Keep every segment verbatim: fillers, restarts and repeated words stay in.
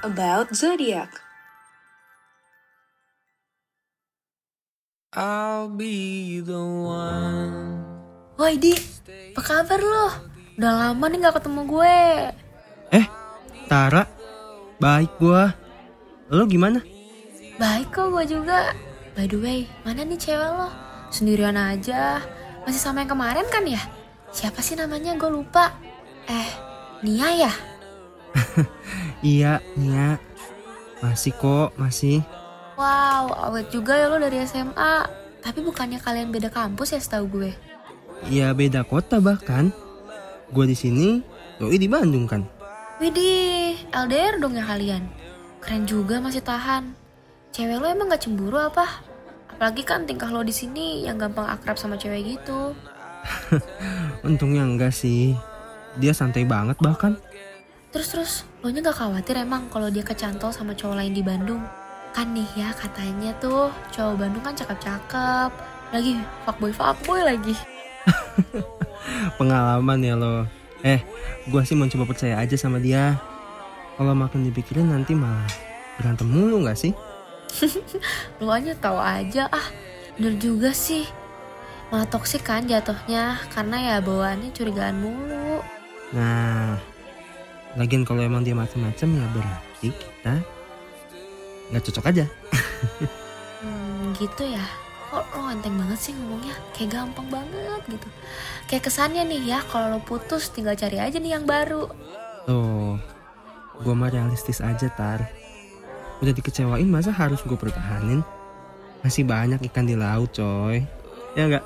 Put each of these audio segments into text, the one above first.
about zodiac. I'll be the one. Woi Di, apa kabar lo? Udah lama nih gak ketemu gue. Eh, Tara, baik gue. Lo gimana? Baik kok gue juga. By the way, mana nih cewek lo? Sendirian aja. Masih sama yang kemarin kan ya? Siapa sih namanya, gue lupa. Eh, Nia ya? Iya, Nia. Masih kok, masih. Wow, awet juga ya lo dari S M A. Tapi bukannya kalian beda kampus ya setahu gue? Iya, beda kota bahkan. Gue di sini, doi di Bandung kan. Widih, L D R dong ya kalian. Keren juga masih tahan. Cewek lo emang gak cemburu apa? Apalagi kan tingkah lo di sini yang gampang akrab sama cewek gitu. Untungnya enggak sih. Dia santai banget bahkan. Terus-terus, lo nya gak khawatir emang kalau dia kecantol sama cowok lain di Bandung? Kan nih ya katanya tuh cowok Bandung kan cakep-cakep. Lagi fuckboy-fuckboy lagi. Pengalaman ya lo. Eh, gue sih mau coba percaya aja sama dia. Kalau makin dipikirin nanti malah berantem mulu gak sih? Lo aja tahu aja ah. Bener juga sih. Malah toksik kan jatuhnya. Karena ya bawaannya curigaan mulu. Nah, lagian kalau emang dia macem-macem ya berarti kita gak cocok aja. Hmm, gitu ya. Kok lo enteng banget sih ngomongnya? Kayak gampang banget gitu. Kayak kesannya nih ya, kalau lo putus tinggal cari aja nih yang baru. Tuh, gue mah realistis aja Tar. Udah dikecewain masa harus gue pertahanin? Masih banyak ikan di laut coy. Ya gak?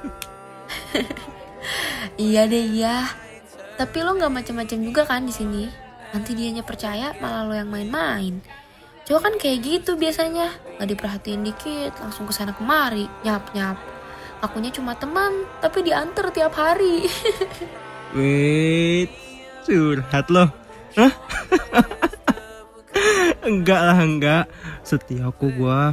Iya deh iya. Tapi lo gak macam-macam juga kan di sini. Nanti dianya percaya malah lo yang main-main. Cowok kan kayak gitu biasanya, gak diperhatiin dikit, langsung kesana kemari, nyap-nyap. Akunya cuma teman, tapi diantar tiap hari. Wait, curhat loh. Hah? Enggak lah, enggak. Setia kok gua.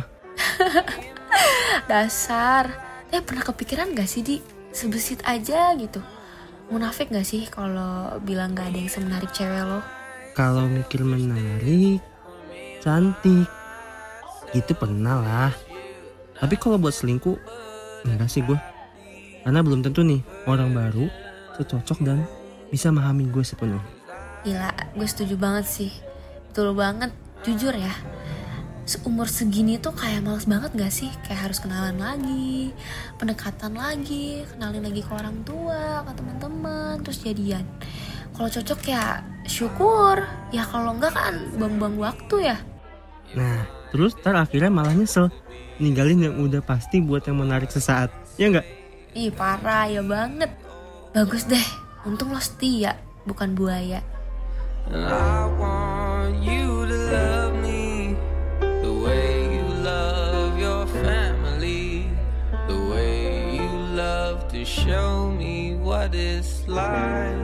Dasar. Eh pernah kepikiran gak sih Di, sebesit aja gitu? Munafik gak sih kalau bilang gak ada yang semenarik cewek lo? Kalau mikir menarik, cantik, itu pernah lah. Tapi kalau buat selingkuh, enggak sih gue. Karena belum tentu nih orang baru cocok dan bisa memahami gue sepenuhnya. Gila, gue setuju banget sih. Betul banget, jujur ya. Seumur segini tuh kayak males banget gak sih? Kayak harus kenalan lagi, pendekatan lagi, kenalin lagi ke orang tua, ke teman-teman, terus jadian. Kalau cocok ya syukur, ya kalau enggak kan buang-buang waktu ya. Nah, terus ntar akhirnya malah nyesel ninggalin yang udah pasti buat yang menarik sesaat. Ya enggak? Ih parah ya banget. Bagus deh, untung lo setia, bukan buaya. I want you to love me the way you love your family, the way you love to show me what it's like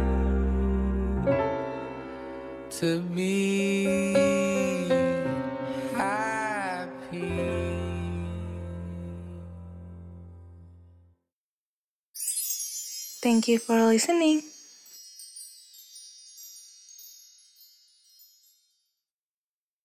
to be happy. Thank you for listening.